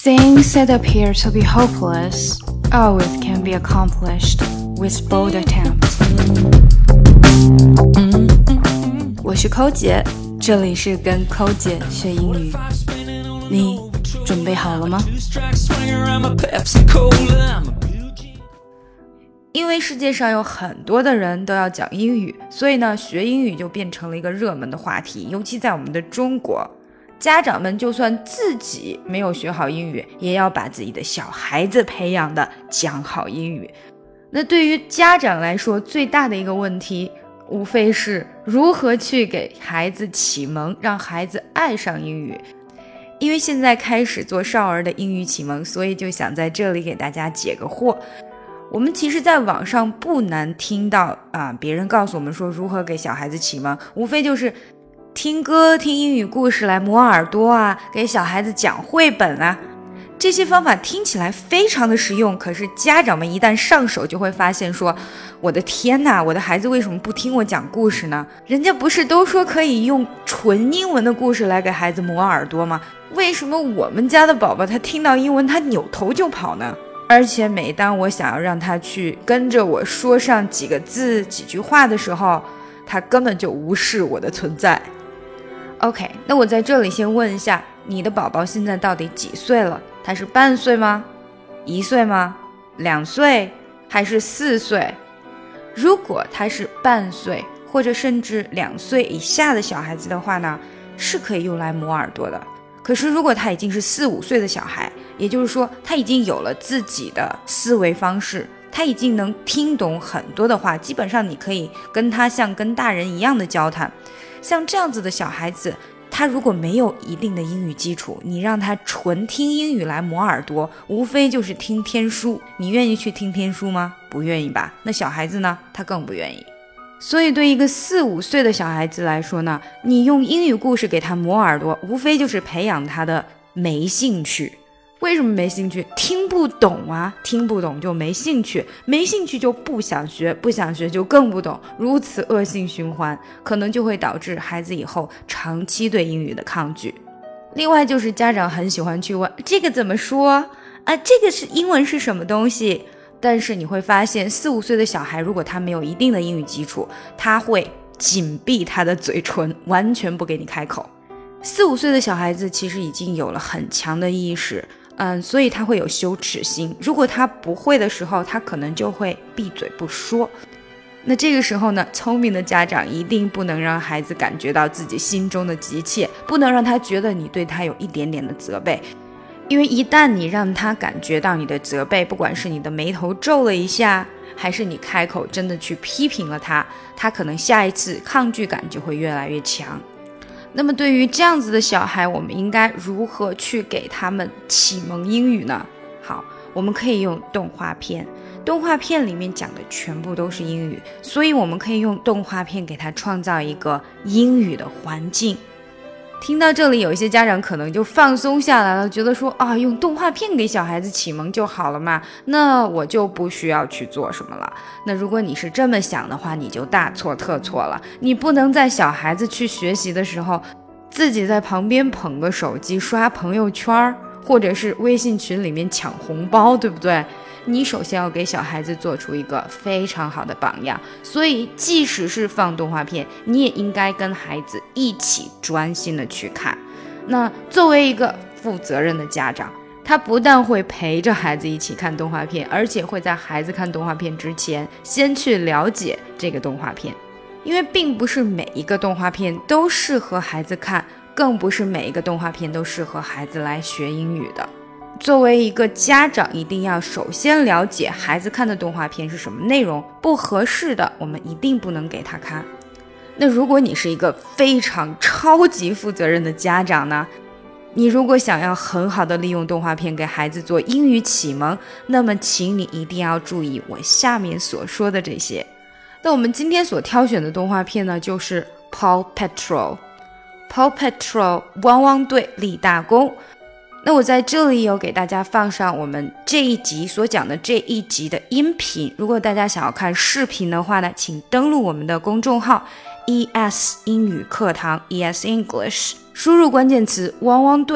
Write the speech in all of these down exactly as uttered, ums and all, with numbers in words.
Things that appear to be hopeless always can be accomplished with bold attempt. 我是抠姐，这里是跟抠姐学英语。你准备好了吗？因为世界上有很多的人都要讲英语，所以呢，学英语就变成了一个热门的话题，尤其在我们的中国。家长们就算自己没有学好英语，也要把自己的小孩子培养的讲好英语。那对于家长来说，最大的一个问题无非是如何去给孩子启蒙，让孩子爱上英语。因为现在开始做少儿的英语启蒙，所以就想在这里给大家解个惑。我们其实在网上不难听到啊，别人告诉我们说如何给小孩子启蒙，无非就是听歌、听英语故事来磨耳朵啊，给小孩子讲绘本啊，这些方法听起来非常的实用，可是家长们一旦上手就会发现说，我的天哪，我的孩子为什么不听我讲故事呢？人家不是都说可以用纯英文的故事来给孩子磨耳朵吗？为什么我们家的宝宝他听到英文他扭头就跑呢？而且每当我想要让他去跟着我说上几个字几句话的时候，他根本就无视我的存在。OK， 那我在这里先问一下，你的宝宝现在到底几岁了？他是半岁吗？一岁吗？两岁？还是四岁？如果他是半岁或者甚至两岁以下的小孩子的话呢，是可以用来磨耳朵的。可是如果他已经是四五岁的小孩，也就是说他已经有了自己的思维方式，他已经能听懂很多的话，基本上你可以跟他像跟大人一样的交谈。像这样子的小孩子，他如果没有一定的英语基础，你让他纯听英语来磨耳朵，无非就是听天书。你愿意去听天书吗？不愿意吧？那小孩子呢？他更不愿意。所以对一个四五岁的小孩子来说呢，你用英语故事给他磨耳朵，无非就是培养他的没兴趣。为什么没兴趣？听不懂啊，听不懂就没兴趣，没兴趣就不想学，不想学就更不懂，如此恶性循环，可能就会导致孩子以后长期对英语的抗拒。另外就是家长很喜欢去问这个怎么说啊，这个是英文是什么东西，但是你会发现四五岁的小孩如果他没有一定的英语基础，他会紧闭他的嘴唇，完全不给你开口。四五岁的小孩子其实已经有了很强的意识，嗯，所以他会有羞耻心。如果他不会的时候，他可能就会闭嘴不说。那这个时候呢，聪明的家长一定不能让孩子感觉到自己心中的急切，不能让他觉得你对他有一点点的责备。因为一旦你让他感觉到你的责备，不管是你的眉头皱了一下，还是你开口真的去批评了他，他可能下一次抗拒感就会越来越强。那么对于这样子的小孩，我们应该如何去给他们启蒙英语呢？好，我们可以用动画片，动画片里面讲的全部都是英语，所以我们可以用动画片给他创造一个英语的环境。听到这里，有一些家长可能就放松下来了，觉得说啊，用动画片给小孩子启蒙就好了嘛，那我就不需要去做什么了。那如果你是这么想的话，你就大错特错了。你不能在小孩子去学习的时候，自己在旁边捧个手机刷朋友圈，或者是微信群里面抢红包，对不对？你首先要给小孩子做出一个非常好的榜样，所以即使是放动画片，你也应该跟孩子一起专心的去看。那作为一个负责任的家长，他不但会陪着孩子一起看动画片，而且会在孩子看动画片之前先去了解这个动画片。因为并不是每一个动画片都适合孩子看，更不是每一个动画片都适合孩子来学英语的。作为一个家长，一定要首先了解孩子看的动画片是什么内容，不合适的我们一定不能给他看。那如果你是一个非常超级负责任的家长呢，你如果想要很好的利用动画片给孩子做英语启蒙，那么请你一定要注意我下面所说的这些。那我们今天所挑选的动画片呢，就是 Paw Patrol Paw Patrol 汪汪队立大功。那我在这里有给大家放上我们这一集所讲的这一集的音频，如果大家想要看视频的话呢，请登录我们的公众号 E S 英语课堂 E S English， 输入关键词汪汪队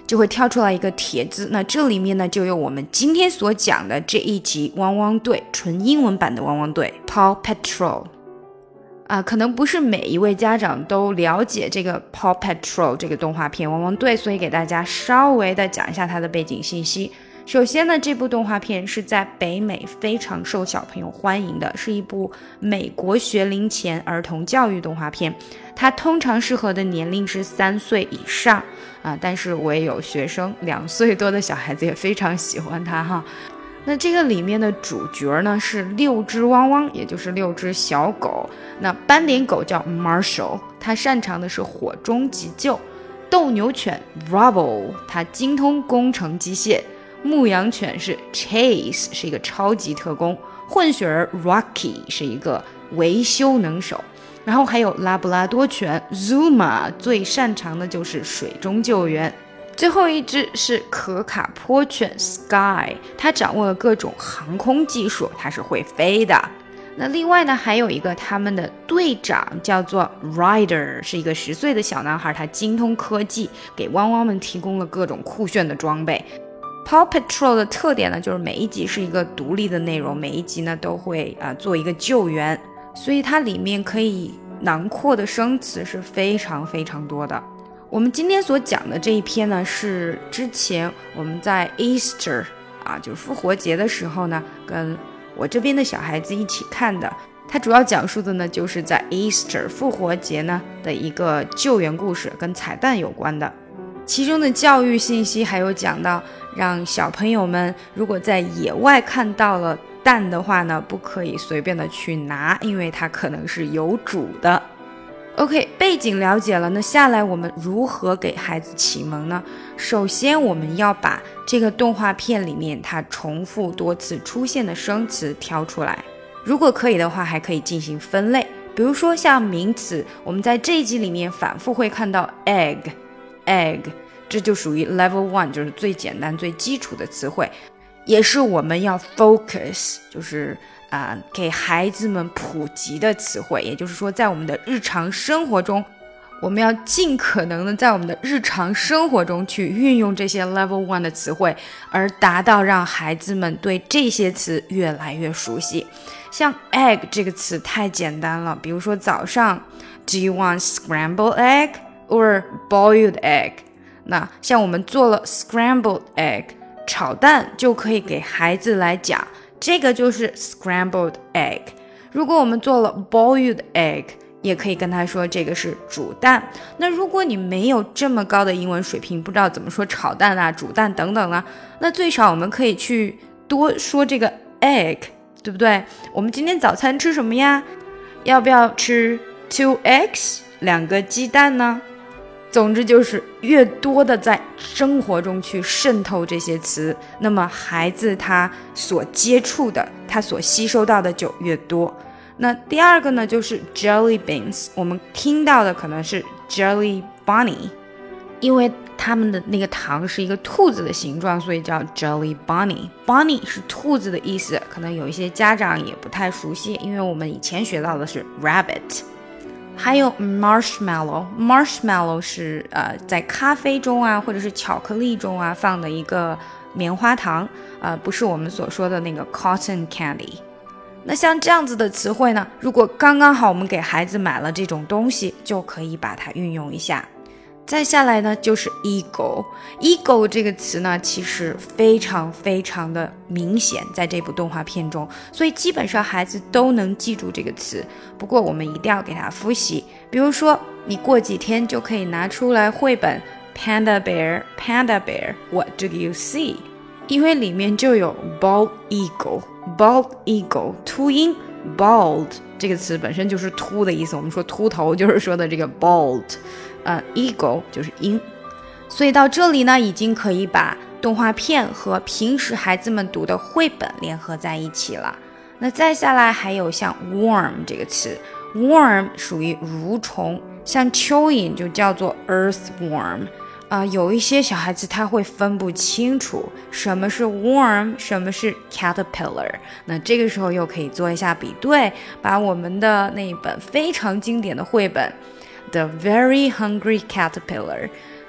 就会跳出来一个帖子，那这里面呢就有我们今天所讲的这一集汪汪队，纯英文版的汪汪队 Paw Patrol。啊，可能不是每一位家长都了解这个 Paw Patrol 这个动画片汪汪队，所以给大家稍微的讲一下它的背景信息。首先呢，这部动画片是在北美非常受小朋友欢迎的，是一部美国学龄前儿童教育动画片，它通常适合的年龄是三岁以上啊，但是我也有学生两岁多的小孩子也非常喜欢它哈。那这个里面的主角呢是六只汪汪，也就是六只小狗。那斑点狗叫 Marshall， 它擅长的是火中急救；斗牛犬 Rubble， 它精通工程机械；牧羊犬是 Chase， 是一个超级特工；混血儿 Rocky 是一个维修能手。然后还有拉布拉多犬 Zuma， 最擅长的就是水中救援。最后一只是可卡坡犬 Sky， 它掌握了各种航空技术，它是会飞的。那另外呢，还有一个他们的队长叫做 Ryder， 是一个十岁的小男孩，他精通科技，给汪汪们提供了各种酷炫的装备。Paw Patrol 的特点呢，就是每一集是一个独立的内容，每一集呢都会啊、呃、做一个救援，所以它里面可以囊括的生词是非常非常多的。我们今天所讲的这一篇呢，是之前我们在 Easter 啊，就是复活节的时候呢，跟我这边的小孩子一起看的。它主要讲述的呢，就是在 Easter 复活节呢的一个救援故事，跟彩蛋有关的。其中的教育信息还有讲到，让小朋友们如果在野外看到了蛋的话呢，不可以随便的去拿，因为它可能是有主的。OK， 背景了解了，那下来我们如何给孩子启蒙呢？首先我们要把这个动画片里面它重复多次出现的生词挑出来，如果可以的话还可以进行分类，比如说像名词，我们在这一集里面反复会看到 egg egg， 这就属于 level one， 就是最简单最基础的词汇，也是我们要 focus， 就是啊、呃，给孩子们普及的词汇，也就是说在我们的日常生活中，我们要尽可能的在我们的日常生活中去运用这些 level one 的词汇，而达到让孩子们对这些词越来越熟悉。像 egg 这个词太简单了，比如说早上 Do you want scrambled egg or boiled egg？ 那像我们做了 scrambled egg 炒蛋，就可以给孩子来讲这个就是 scrambled egg。 如果我们做了 boiled egg， 也可以跟他说这个是煮蛋。那如果你没有这么高的英文水平，不知道怎么说炒蛋啊煮蛋等等啊，那最少我们可以去多说这个 egg， 对不对？我们今天早餐吃什么呀？要不要吃 two eggs 两个鸡蛋呢？总之就是越多的在生活中去渗透这些词，那么孩子他所接触的他所吸收到的就越多。那第二个呢就是 jelly beans， 我们听到的可能是 jelly bunny， 因为他们的那个糖是一个兔子的形状，所以叫 jelly bunny。 bunny 是兔子的意思，可能有一些家长也不太熟悉，因为我们以前学到的是 rabbit。还有 marshmallow， marshmallow 是呃在咖啡中啊或者是巧克力中啊放的一个棉花糖，呃不是我们所说的那个 cotton candy。 那像这样子的词汇呢，如果刚刚好我们给孩子买了这种东西，就可以把它运用一下。再下来呢就是 ego ego 这个词呢其实非常非常的明显在这部动画片中，所以基本上孩子都能记住这个词，不过我们一定要给他复习。比如说你过几天就可以拿出来绘本 Panda Bear Panda Bear What do you see？ 因为里面就有 bald eagle bald eagle 秃鹰 bald 这个词本身就是秃的意思，我们说秃头就是说的这个 bald，呃 eagle 就是鹰。所以到这里呢，已经可以把动画片和平时孩子们读的绘本联合在一起了。那再下来还有像 worm 这个词， worm 属于蠕虫，像蚯蚓就叫做 earthworm。呃，有一些小孩子他会分不清楚什么是 worm 什么是 caterpillar， 那这个时候又可以做一下比对，把我们的那一本非常经典的绘本The Very Hungry Caterpillar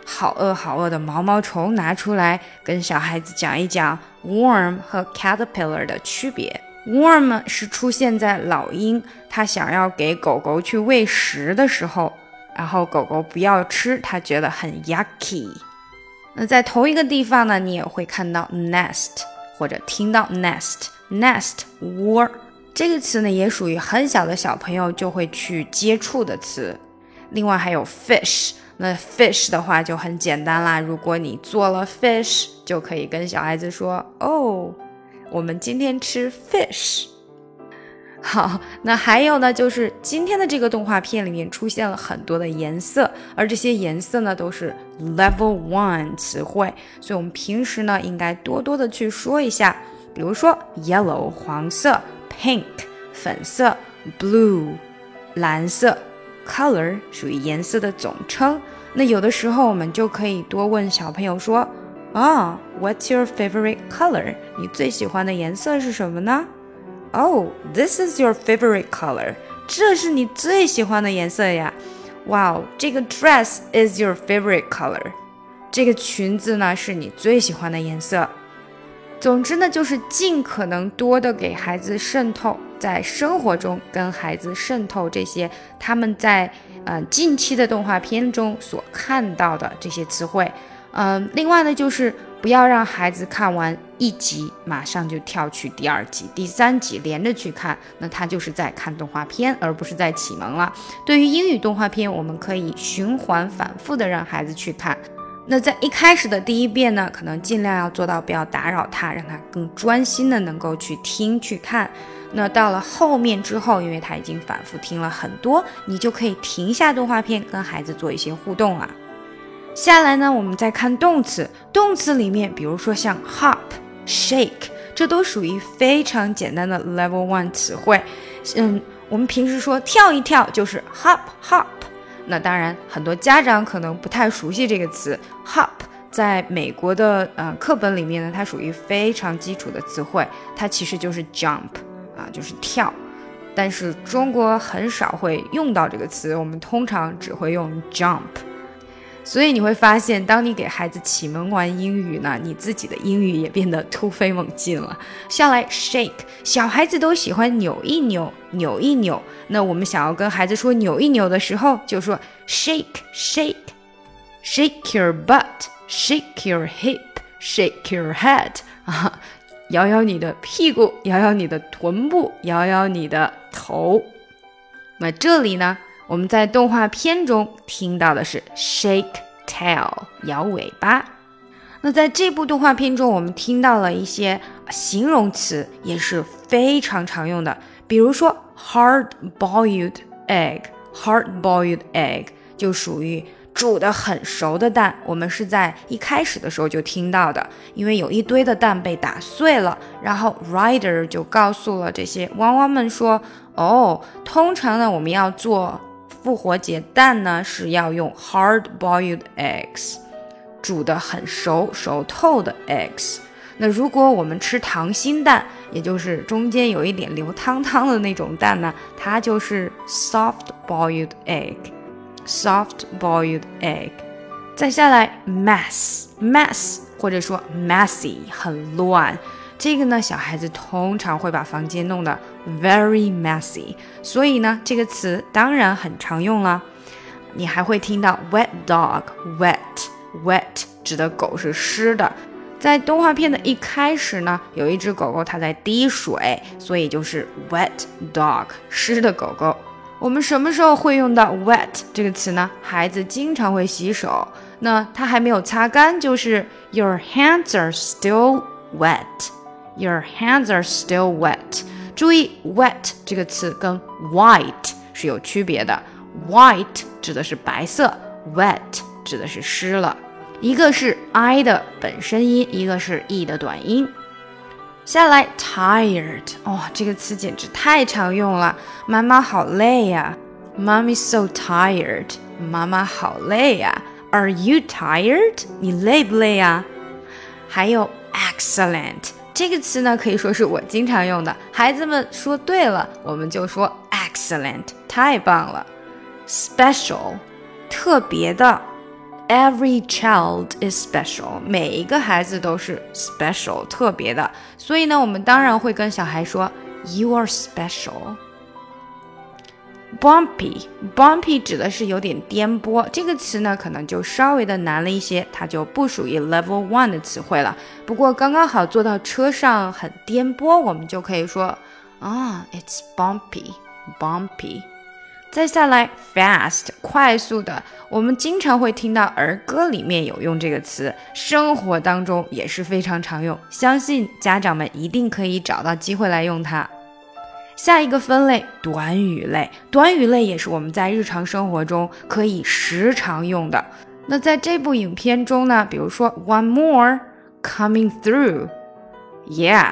好饿好饿的毛毛虫拿出来，跟小孩子讲一讲 worm 和 caterpillar 的区别。worm 是出现在老鹰它想要给狗狗去喂食的时候，然后狗狗不要吃，它觉得很 yucky。 那在同一个地方呢，你也会看到 nest 或者听到 nest nest 窝，这个词呢也属于很小的小朋友就会去接触的词。另外还有 fish， 那 fish 的话就很简单啦，如果你做了 fish 就可以跟小孩子说，哦，我们今天吃 fish。 好，那还有呢，就是今天的这个动画片里面出现了很多的颜色，而这些颜色呢都是 level one 词汇，所以我们平时呢应该多多的去说一下。比如说 yellow 黄色， pink 粉色， blue 蓝色， color 属于颜色的总称。那有的时候我们就可以多问小朋友说，啊、oh, what's your favorite color？ 你最喜欢的颜色是什么呢？ Oh, this is your favorite color， 这是你最喜欢的颜色呀。 Wow, 这个 dress is your favorite color， 这个裙子呢是你最喜欢的颜色。总之呢，就是尽可能多的给孩子渗透，在生活中跟孩子渗透这些他们在呃近期的动画片中所看到的这些词汇。嗯、呃，另外呢，就是不要让孩子看完一集马上就跳去第二集、第三集连着去看，那他就是在看动画片，而不是在启蒙了。对于英语动画片，我们可以循环反复的让孩子去看。那在一开始的第一遍呢，可能尽量要做到不要打扰他，让他更专心的能够去听去看。那到了后面之后，因为他已经反复听了很多，你就可以停下动画片跟孩子做一些互动了。下来呢，我们再看动词。动词里面比如说像 hop、shake， 这都属于非常简单的 level one 词汇。嗯，我们平时说跳一跳就是 hop hop，那当然很多家长可能不太熟悉这个词 hop， 在美国的呃课本里面呢，它属于非常基础的词汇，它其实就是 jump 啊，就是跳，但是中国很少会用到这个词，我们通常只会用 jump。 所以你会发现，当你给孩子启蒙完英语呢，你自己的英语也变得突飞猛进了。下来 shake， 小孩子都喜欢扭一扭扭一扭，那我们想要跟孩子说扭一扭的时候，就说 shake shake shake your butt shake your hip shake your head 啊，摇摇你的屁股，摇摇你的臀部，摇摇你的头。那这里呢，我们在动画片中听到的是 shake tail 摇尾巴。那在这部动画片中，我们听到了一些形容词，也是非常常用的，比如说 hard boiled egg hard boiled egg 就属于煮得很熟的蛋，我们是在一开始的时候就听到的，因为有一堆的蛋被打碎了，然后 Ryder 就告诉了这些汪汪们说，哦，通常呢我们要做复活节蛋呢是要用 hard boiled eggs， 煮得很熟熟透的 eggs。 那如果我们吃溏心蛋，也就是中间有一点流汤汤的那种蛋呢，它就是 soft boiled egg soft boiled egg。 再下来 mess mess 或者说 messy 很乱，这个呢小孩子通常会把房间弄得 very messy， 所以呢这个词当然很常用了。你还会听到 wet dog wet wet 指的狗是湿的，在动画片的一开始呢，有一只狗狗它在滴水，所以就是 wet dog 湿的狗狗。我们什么时候会用到 wet 这个词呢？孩子经常会洗手，那他还没有擦干，就是 your hands are still wet your hands are still wet。 注意 wet 这个词跟 white 是有区别的， white 指的是白色， wet 指的是湿了，一个是 I 的本身音，一个是 E 的短音。下来 tired， 哦，这个词简直太常用了，妈妈好累呀 Mommy's so tired， 妈妈好累呀 Are you tired？ 你累不累呀？还有 excellent， 这个词呢可以说是我经常用的，孩子们说对了我们就说 excellent， 太棒了。special 特别的， Every child is special， 每一个孩子都是 special 特别的，所以呢，我们当然会跟小孩说 You are special。Bumpy Bumpy 指的是有点颠簸，这个词呢可能就稍微的难了一些，它就不属于 level one 的词汇了。不过刚刚好坐到车上很颠簸，我们就可以说啊、oh, It's bumpy Bumpy。 再下来 fast 快速的，我们经常会听到儿歌里面有用这个词，生活当中也是非常常用，相信家长们一定可以找到机会来用它。下一个分类短语类，短语类也是我们在日常生活中可以时常用的。那在这部影片中呢，比如说 One more coming through Yeah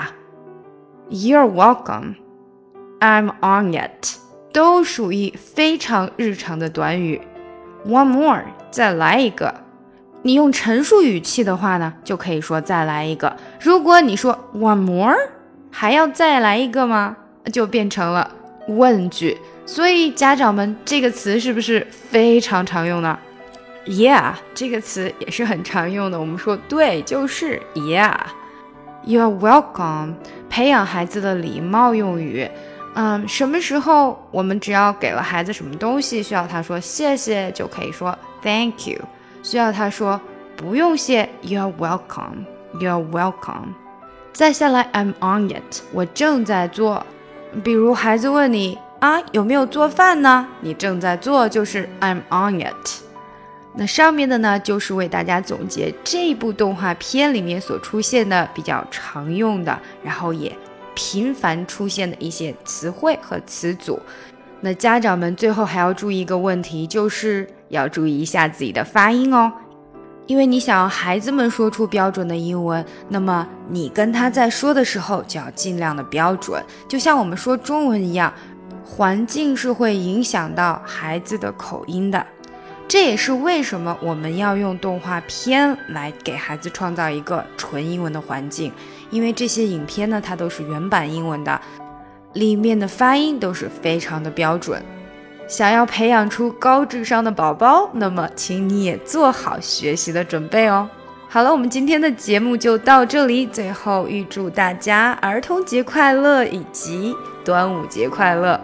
You're welcome I'm on it 都属于非常日常的短语。 One more 再来一个，你用陈述语气的话呢，就可以说再来一个。如果你说 One more 还要再来一个吗，就变成了问句。所以家长们，这个词是不是非常常用呢？ Yeah 这个词也是很常用的，我们说对就是 Yeah You're welcome 培养孩子的礼貌用语。嗯，什么时候我们只要给了孩子什么东西，需要他说谢谢，就可以说 Thank you。 需要他说不用谢 You're welcome You're welcome。 再下来 I'm on it 我正在做。比如孩子问你啊，有没有做饭呢？你正在做就是 I'm on it。 那上面的呢，就是为大家总结这部动画片里面所出现的比较常用的，然后也频繁出现的一些词汇和词组。那家长们最后还要注意一个问题，就是要注意一下自己的发音哦。因为你想要孩子们说出标准的英文，那么你跟他在说的时候就要尽量的标准，就像我们说中文一样，环境是会影响到孩子的口音的。这也是为什么我们要用动画片来给孩子创造一个纯英文的环境，因为这些影片呢，它都是原版英文的，里面的发音都是非常的标准。想要培养出高智商的宝宝，那么请你也做好学习的准备哦。好了，我们今天的节目就到这里，最后预祝大家儿童节快乐以及端午节快乐。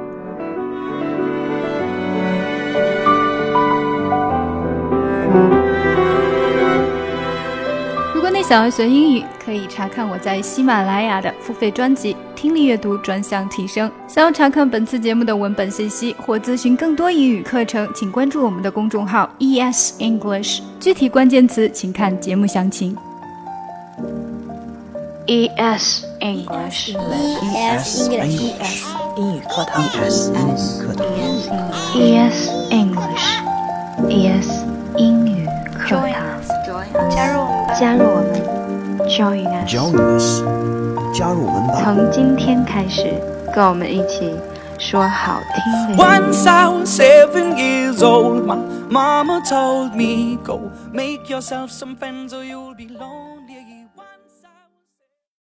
如果你想要学英语，可以查看我在喜马拉雅的付费专辑《听力阅读专项提升》。想要查看本次节目的文本信息或咨询更多英语课程，请关注我们的公众号 E S English， 具体关键词请看节目详情。E S English E S English 英语课堂 E S 英语课堂 E S English E S 英语课堂， 加入我们吧， 加入我们 Join us Join us 加入我们吧。 从今天开始，跟我们一起说好听的英语。 Once I was seven years old, my mama told me, go make yourself some friends or you'll be lonely.